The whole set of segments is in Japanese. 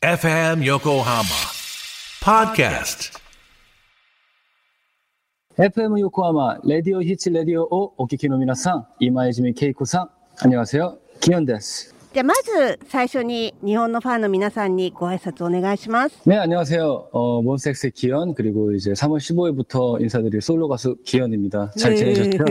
FM Yokohama Podcast FM 横浜レディオヒッチレディオをお聞きの皆さん、今泉恵子さん、안녕하세요、キヨンです。 じゃあまず最初に日本のファンの皆さんにご挨拶お願いします。 네、안녕하세요。몬스타엑스의 기현, 그리고 이제 3월 15일부터 인사드릴 솔로 가수 기현입니다. 잘 지내셨죠?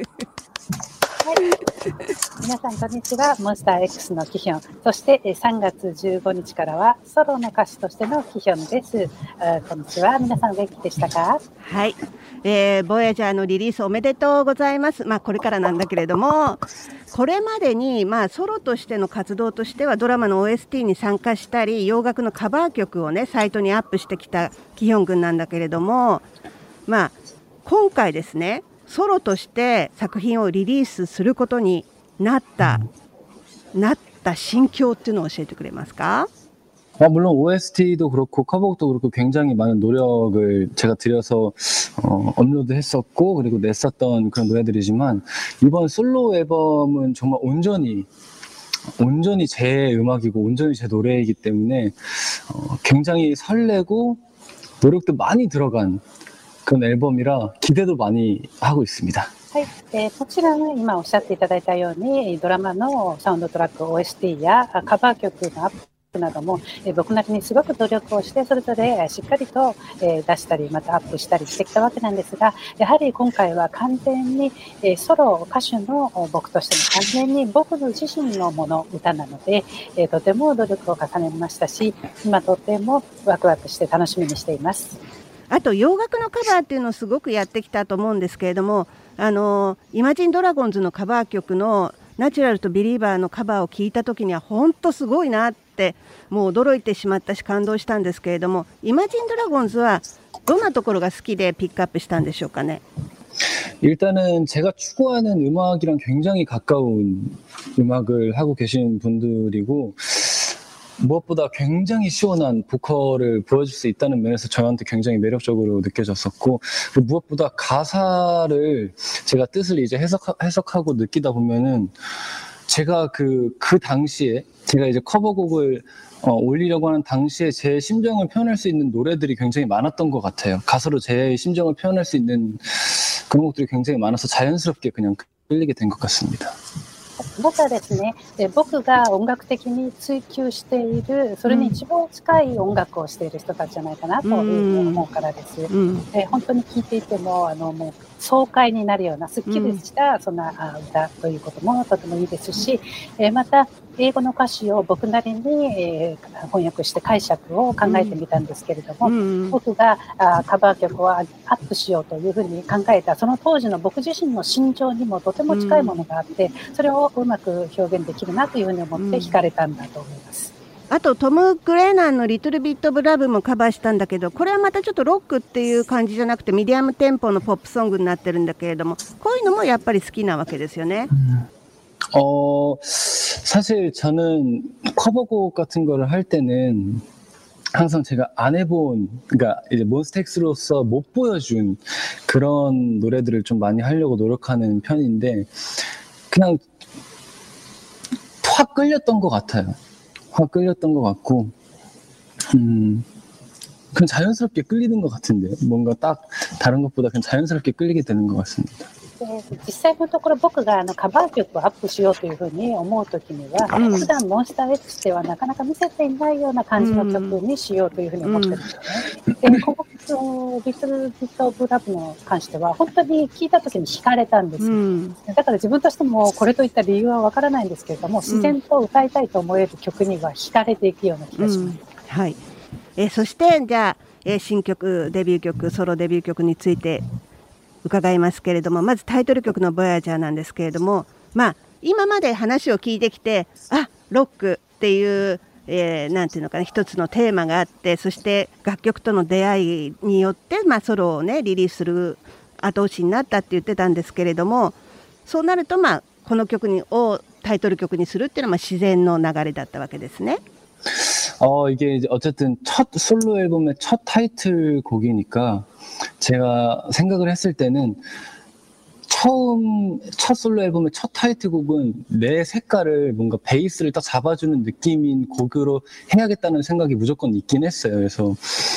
皆さんこんにちは、モンスター X のキヒョン、そして3月15日からはソロの歌手としてのキヒョンです。こんにちは、皆さん元気でしたか？ はい、ボヤジャーのリリースおめでとうございます。これからなんだけれども、これまでにソロとしての活動としてはドラマの OST に参加したり、洋楽のカバー曲をねサイトにアップしてきたキヒョン君なんだけれども、今回ですね、ソロとして作品をリリースすることになった心境っていうのを教えてくれますか？ 물론 OST도 그렇고 커버곡도 그렇고 굉장히 많은 노력을 제가 들여서 업로드했었고 그리고 냈었던 그런 노래들이지만, 이번 솔로 앨범은 정말 온전히 제 음악이고 온전히 제 노래이기 때문에 굉장히 설레고 노력도 많이 들어간 그런 앨범이라 기대도 많이 하고 있습니다. はい、もちろん今おっしゃっていただいたようにドラマのサウンドトラック OST やカバー曲のアップなども僕なりにすごく努力をしてそれぞれしっかりと出したりまたアップしたりしてきたわけなんですが、やはり今回は完全にソロ歌手の僕としても完全に僕の自身のもの歌なのでとても努力を重ねましたし、今とてもワクワクして楽しみにしています。 あと洋楽のカバーっていうのをすごくやってきたと思うんですけれども、イマジンドラゴンズのカバー曲のナチュラルとビリーバーのカバーを聞いた時には本当すごいなってもう驚いてしまったし感動したんですけれども、イマジンドラゴンズはどんなところが好きでピックアップしたんでしょうかね？ 일단은 제가 추구하는 음악이랑 굉장히 가까운 음악을 하고 계신 분들이고, 무엇보다 굉장히 시원한 보컬을 보여줄 수 있다는 면에서 저한테 굉장히 매력적으로 느껴졌었고, 무엇보다 가사를 제가 뜻을 이제 해석하고 느끼다 보면은 제가 그 당시에 제가 이제 커버곡을 올리려고 하는 당시에 제 심정을 표현할 수 있는 노래들이 굉장히 많았던 것 같아요. 가사로 제 심정을 표현할 수 있는 그런 곡들이 굉장히 많아서 자연스럽게 그냥 끌리게 된 것 같습니다. またですね、僕が音楽的に追求しているそれに一番近い音楽をしている人たちじゃないかなというふうに思うからです。本当に聴いていてももう爽快になるようなすっきりしたそんな歌ということもとてもいいですし、また英語の歌詞を僕なりに翻訳して解釈を考えてみたんですけれども、僕がカバー曲をアップしようというふうに考えたその当時の僕自身の心情にもとても近いものがあって、それをうまく表現できるなというふうに思って惹かれたんだと思います。 あとトム・グレーナンのリトルビット・オブ・ラブもカバーしたんだけど、これはまたちょっとロックっていう感じじゃなくてミディアムテンポのポップソングになってるんだけれども、こういうのもやっぱり好きなわけですよね。 사실 저는 커버곡 같은 거를 할 때는 항상 제가 안 해본, 그러니까 이제 몬스타엑스로서 못 보여준 그런 노래들을 좀 많이 하려고 노력하는 편인데, 그냥 확 끌렸던 것 같아요. 확 끌렸던 것 같고, 그냥 자연스럽게 끌리는 것 같은데요. 뭔가 딱 다른 것보다 그냥 자연스럽게 끌리게 되는 것 같습니다. 実際のところ僕がカバー曲をアップしようというふうに思うときには、普段モンスター X ではなかなか見せていないような感じの曲にしようというふうに思ってるんですよね。で、このリトルビットオブラブに関しては本当に聞いたときに惹かれたんですよ。だから自分としてもこれといった理由はわからないんですけれども、自然と歌いたいと思える曲には惹かれていくような気がします。 はい。そしてじゃあ、新曲デビュー曲ソロデビュー曲について伺いますけれども、まずタイトル曲のボヤジャーなんですけれども、今まで話を聞いてきてロックっていう、なんていうのかな、一つのテーマがあって、そして楽曲との出会いによって、ソロをねリリースする後押しになったって言ってたんですけれども、そうなるとこの曲をタイトル曲にするっていうのは自然の流れだったわけですね。 이게 이제 어쨌든 첫 솔로 앨범의 첫 타이틀곡이니까 제가 생각을 했을 때는 첫 솔로 앨범의 첫 타이틀곡은 내 색깔을 뭔가 베이스를 딱 잡아주는 느낌인 곡으로 해야겠다는 생각이 무조건 있긴 했어요. 그래서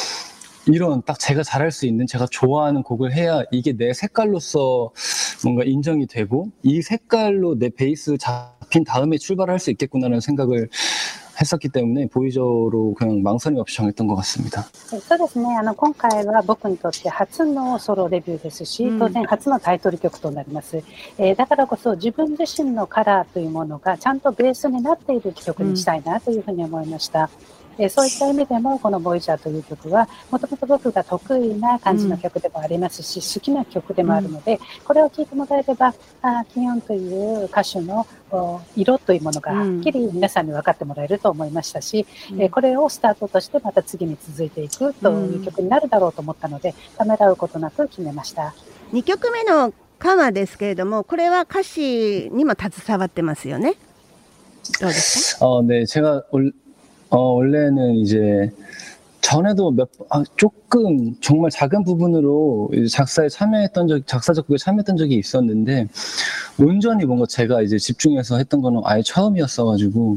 이런 딱 제가 잘할 수 있는, 제가 좋아하는 곡을 해야 이게 내 색깔로서 뭔가 인정이 되고 이 색깔로 내 베이스 잡힌 다음에 출발할 수 있겠구나라는 생각을 했었기 때문에 보이저로 그냥 망설임 없이 정했던 것 같습니다. そうですね。今回は僕にとって初のソロデビューですし、当然初のタイトル曲となります。だからこそ自分自身のカラーというものがちゃんとベースになっている曲にしたいなというふうに思いました。そういった意味でもこのボイジャーという曲はもともと僕が得意な感じの曲でもありますし、好きな曲でもあるので、これを聴いてもらえればキヨンという歌手の色というものがはっきり皆さんに分かってもらえると思いましたし、これをスタートとしてまた次に続いていくという曲になるだろうと思ったので、ためらうことなく決めました。 2曲目のカマですけれども、これは歌詞にも携わってますよね。どうですか？ 네, 제가 원래는 이제 전에도 조금 정말 작은 부분으로 작사 작곡에 참여했던 적이 있었는데 온전히 뭔가 제가 이제 집중해서 했던 거는 아예 처음이었어가지고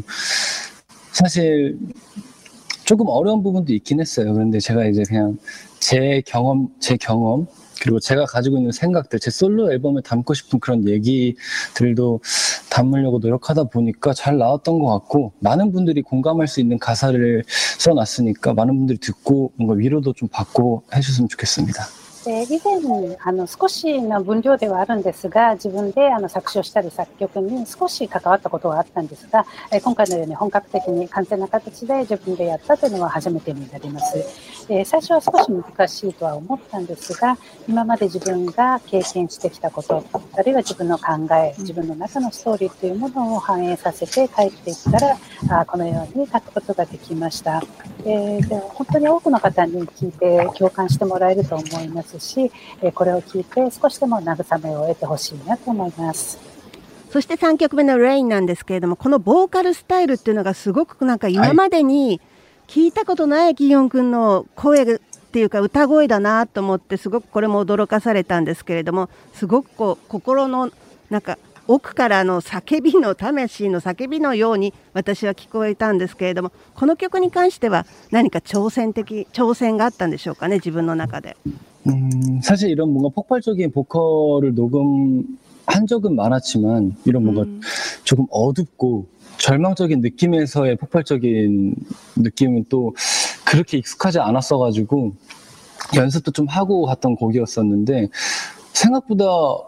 사실 조금 어려운 부분도 있긴 했어요. 그런데 제가 이제 그냥 제 경험 그리고 제가 가지고 있는 생각들, 제 솔로 앨범에 담고 싶은 그런 얘기들도 담으려고 노력하다 보니까 잘 나왔던 것 같고, 많은 분들이 공감할 수 있는 가사를 써놨으니까 많은 분들이 듣고 뭔가 위로도 좀 받고 해주셨으면 좋겠습니다. 以前少しの分量ではあるんですが、自分で作詞をしたり作曲に少し関わったことはあったんですが、今回のように本格的に完全な形で自分でやったというのは初めてになります。最初は少し難しいとは思ったんですが、今まで自分が経験してきたこと、あるいは自分の考え、自分の中のストーリーというものを反映させて帰っていったら、このように書くことができました。本当に多くの方に聞いて共感してもらえると思いますし、これを聞いて少しでも慰めを得てほしいなと思います。 そして3曲目のレインなんですけれども、このボーカルスタイルっていうのがすごくなんか今までに聞いたことないキヨン君の声っていうか歌声だなと思って、すごくこれも驚かされたんですけれども、すごく心のなんか奥からの叫びの魂の叫びのように私は聞こえたんですけれども、この曲に関しては何か挑戦があったんでしょうかね、自分の中で。 사실 이런 뭔가 폭발적인 보컬을 녹음한 적은 많았지만 이런 뭔가 조금 어둡고 절망적인 느낌에서의 폭발적인 느낌은 또 그렇게 익숙하지 않았어가지고 연습도 좀 하고 갔던 곡이었었는데, 생각보다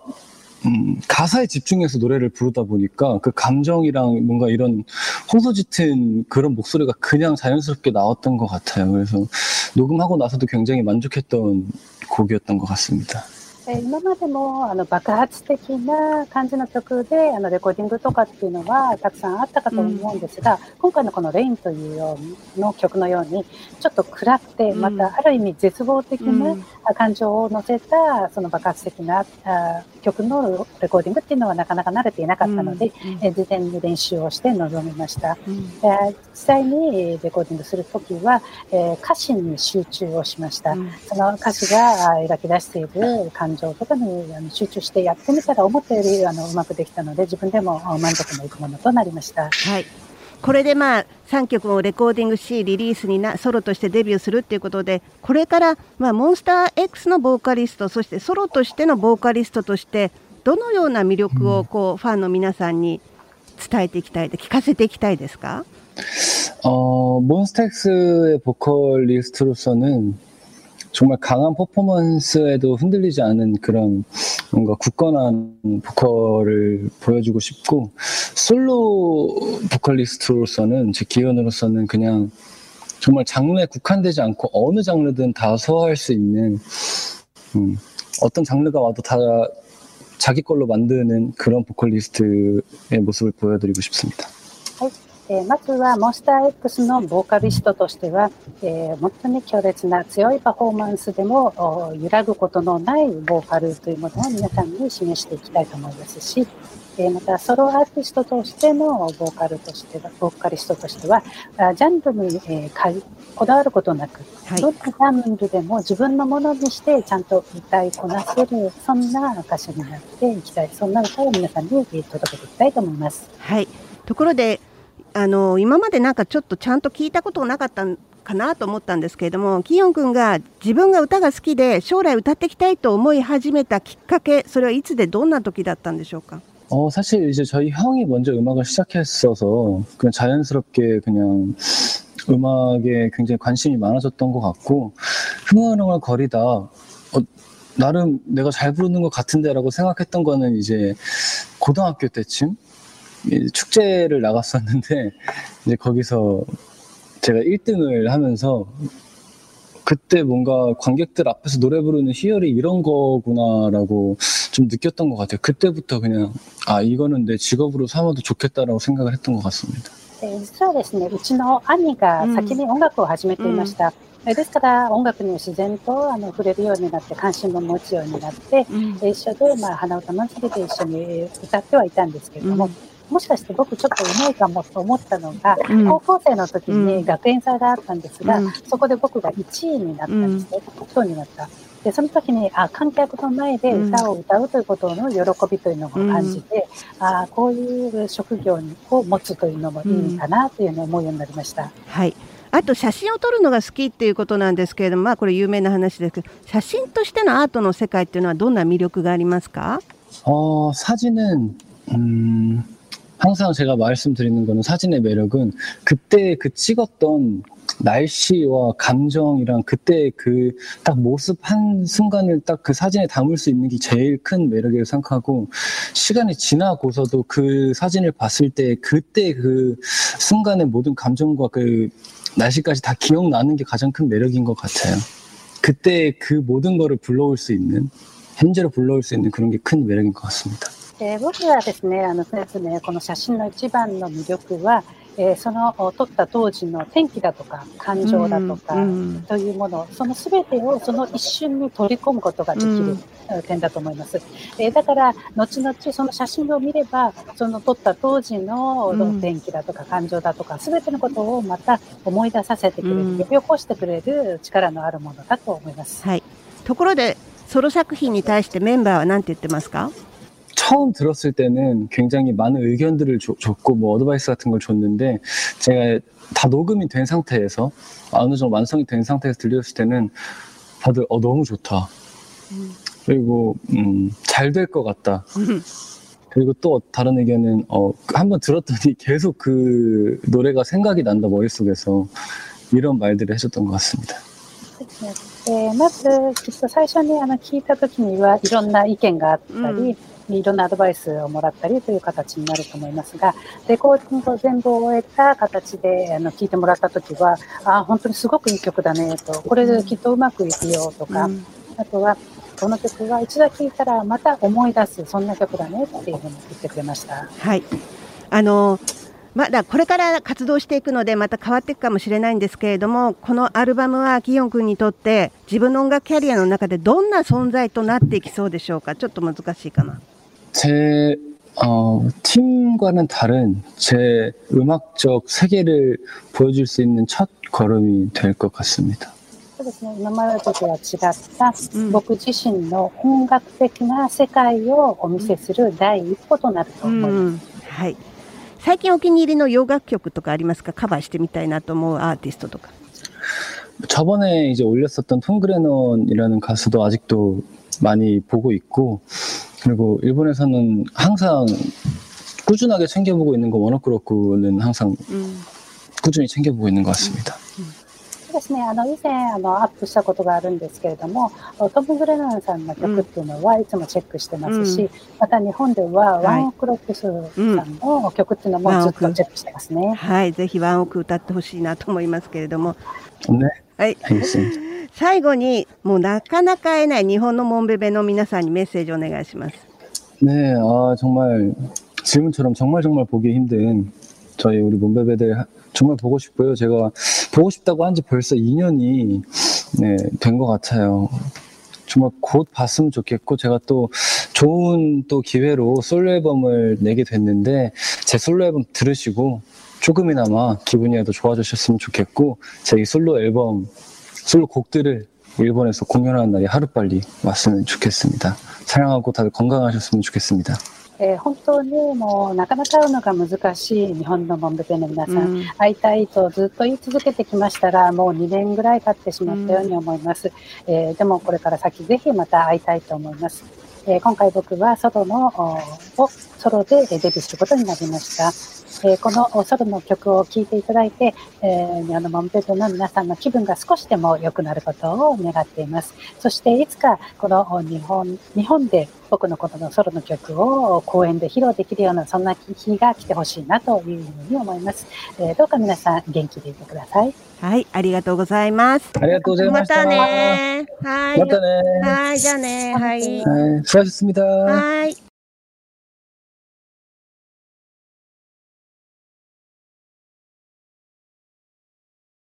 가사에 집중해서 노래를 부르다 보니까 그 감정이랑 뭔가 이런 호소짙은 그런 목소리가 그냥 자연스럽게 나왔던 것 같아요. 그래서 녹음하고 나서도 굉장히 만족했던 곡이었던 것 같습니다. 今までも爆発的な感じの曲でレコーディングとかっていうのはたくさんあったかと思うんですが、今回のこのレインというような曲のようにちょっと暗くて、またある意味絶望的な感情を乗せたその爆発的な曲のレコーディングっていうのはなかなか慣れていなかったので、事前に練習をして臨みました。実際にレコーディングするときは歌詞に集中をしました。その歌詞が描き出している感情とかに集中してやってみたら思ったよりうまくできたので、自分でも満足のいくものとなりました。 はい、これで3曲をレコーディングしリリースにソロとしてデビューするということで、これからモンスター X のボーカリスト、そしてソロとしてのボーカリストとしてどのような魅力をファンの皆さんに伝えていきたい、聞かせていきたいですか？ 몬스타엑스의 보컬리스트로서는 정말 강한 퍼포먼스에도 흔들리지 않은 그런 뭔가 굳건한 보컬을 보여주고 싶고, 솔로 보컬리스트로서는, 제 기원으로서는 그냥 정말 장르에 국한되지 않고 어느 장르든 다 소화할 수 있는, 어떤 장르가 와도 다 자기 걸로 만드는 그런 보컬리스트의 모습을 보여드리고 싶습니다. まずはモンスター X のボーカリストとしては、本当に強烈な強いパフォーマンスでも揺らぐことのないボーカルというものを皆さんに示していきたいと思いますし、またソロアーティストとしてのボーカリストとしてはジャンルにこだわることなく、 はいどんなジャンルでも自分のものにしてちゃんと歌いこなせる、そんな歌手になっていきたい、そんな歌を皆さんに届けていきたいと思います。 はい、ところで今までなんかちょっとちゃんと聞いたことがなかったかなと思ったんですけれども、キヨン君が自分が歌が好きで将来歌っていきたいと思い始めたきっかけ、それはいつでどんな時だったんでしょうか。 사실 이제 저희 형이 먼저 음악을 시작했어서 그냥 자연스럽게 그냥 음악에 굉장히 관심이 많아졌던 것 같고, 흥얼흥얼 거리다 나름 내가 잘 부르는 것 같은데라고 생각했던 거는 이제 고등학교 때쯤 축제를 나갔었는데, 이제 거기서 제가 1등을 하면서 그때 뭔가 관객들 앞에서 노래 부르는 희열이 이런 거구나라고 좀 느꼈던 것 같아요. 그때부터 그냥 이거는 내 직업으로 삼아도 좋겠다라고 생각을 했던 것 같습니다. 実はですね、うちの兄が先に音楽を始めていました。ですから音楽に自然と触れるようになって、関心も持つようになって、一緒で花歌祭りで一緒に歌ってはいたんですけれども、もしかして僕ちょっとうまいかもと思ったのが、高校生の時に学園祭があったんですが、そこで僕が1位になったんですね。1位になった。で、その時に観客の前で歌を歌うということの喜びというのを感じて、こういう職業を持つというのもいいかなというのを思うようになりました。 はい。あと写真を撮るのが好きっていうことなんですけれども、これ有名な話ですけど、写真としてのアートの世界っていうのはどんな魅力がありますか？ 사진은 항상 제가 말씀드리는 거는, 사진의 매력은 그때 그 찍었던 날씨와 감정이랑 그때 그 딱 모습 한 순간을 딱 그 사진에 담을 수 있는 게 제일 큰 매력이라고 생각하고, 시간이 지나고서도 그 사진을 봤을 때 그때 그 순간의 모든 감정과 그 날씨까지 다 기억나는 게 가장 큰 매력인 것 같아요. 그때 그 모든 거를 불러올 수 있는, 현재로 불러올 수 있는 그런 게 큰 매력인 것 같습니다. 僕はですね、この写真の一番の魅力は、その撮った当時の天気だとか感情だとかというもの、その全てをその一瞬に取り込むことができる点だと思います。だから後々その写真を見れば、その撮った当時の天気だとか感情だとか全てのことをまた思い出させてくれる、呼び起こしてくれる力のあるものだと思います。 はい。ところでソロ作品に対してメンバーは何て言ってますか？ 처음 들었을 때는 굉장히 많은 의견들을 줬고 뭐 어드바이스 같은 걸 줬는데, 제가 다 녹음이 된 상태에서 어느 정도 완성이 된 상태에서 들렸을 때는 다들 너무 좋다, 그리고 잘 될 것 같다, 그리고 또 다른 의견은 한번 들었더니 계속 그 노래가 생각이 난다 머릿속에서, 이런 말들을 해줬던 것 같습니다. まずきっと最初に聞いた時にはいろんな意見があったり、いろんなアドバイスをもらったりという形になると思いますが、レコーディングを全部終えた形で聞いてもらった時は、本当にすごくいい曲だねと、これできっとうまくいくよとか、あとはこの曲は一度聴いたらまた思い出す、そんな曲だねっていうふうに言ってくれました。 はい。まだこれから活動していくのでまた変わっていくかもしれないんですけれども、このアルバムはキヨン君にとって自分の音楽キャリアの中でどんな存在となっていきそうでしょうか？ちょっと難しいかな。 제 팀과는 다른 제 음악적 세계를 보여줄 수 있는 첫 걸음이 될 것 같습니다. そうですね、今までとは違った僕自身の音楽的な世界をお見せする第一歩となると思います。 はい。最近お気に入りの洋楽曲とかありますか？カバーしてみたいなと思うアーティストとか。 저번에 이제 올렸었던 톰 그레넌이라는 가수도 아직도 많이 보고 있고, 그리고 일본에서는 항상 꾸준하게 챙겨보고 있는 거 워너크로쿠는 항상 꾸준히 챙겨보고 있는 것 같습니다. そうですね、以前アップしたことがあるんですけれども、トム・グレナンさんの曲っていうのはいつもチェックしてますし、また日本ではワンオクロックスさんの曲っていうのもずっとチェックしてますね。 はい、ぜひワンオク歌ってほしいなと思いますけれども、 ね、 はい、最後にもうなかなか会えない日本のモンベベの皆さんにメッセージをお願いします。 네, 정말 질문처럼 정말 보기 힘든 저희 우리 몬베베들 정말 보고 싶고요. 제가 보고 싶다고 한 지 벌써 2년이 된 것 같아요. 정말 곧 봤으면 좋겠고, 제가 또 좋은 또 기회로 솔로 앨범을 내게 됐는데, 제 솔로 앨범 들으시고 조금이나마 기분이라도 좋아지셨으면 좋겠고, 제 이 솔로 앨범, 솔로 곡들을 일본에서 공연하는 날이 하루빨리 왔으면 좋겠습니다. 사랑하고 다들 건강하셨으면 좋겠습니다. 本当にもうなかなか会うのが難しい日本のモンベペの皆さん、会いたいとずっと言い続けてきましたが、もう2年ぐらい経ってしまったように思います。でもこれから先ぜひまた会いたいと思います。今回僕はソロでデビューすることになりました。このソロの曲を聴いていただいて、モンペペの皆さんの気分が少しでも良くなることを願っています。そしていつかこの日本で僕のこのソロの曲を公演で披露できるようなそんな日が来てほしいなというふうに思います。どうか皆さん元気でいてください。 はい、ありがとうございます。 ありがとうございました。 またね。はい。 またね。 はい、じゃあね。はい。 수고하셨습니다。 はい。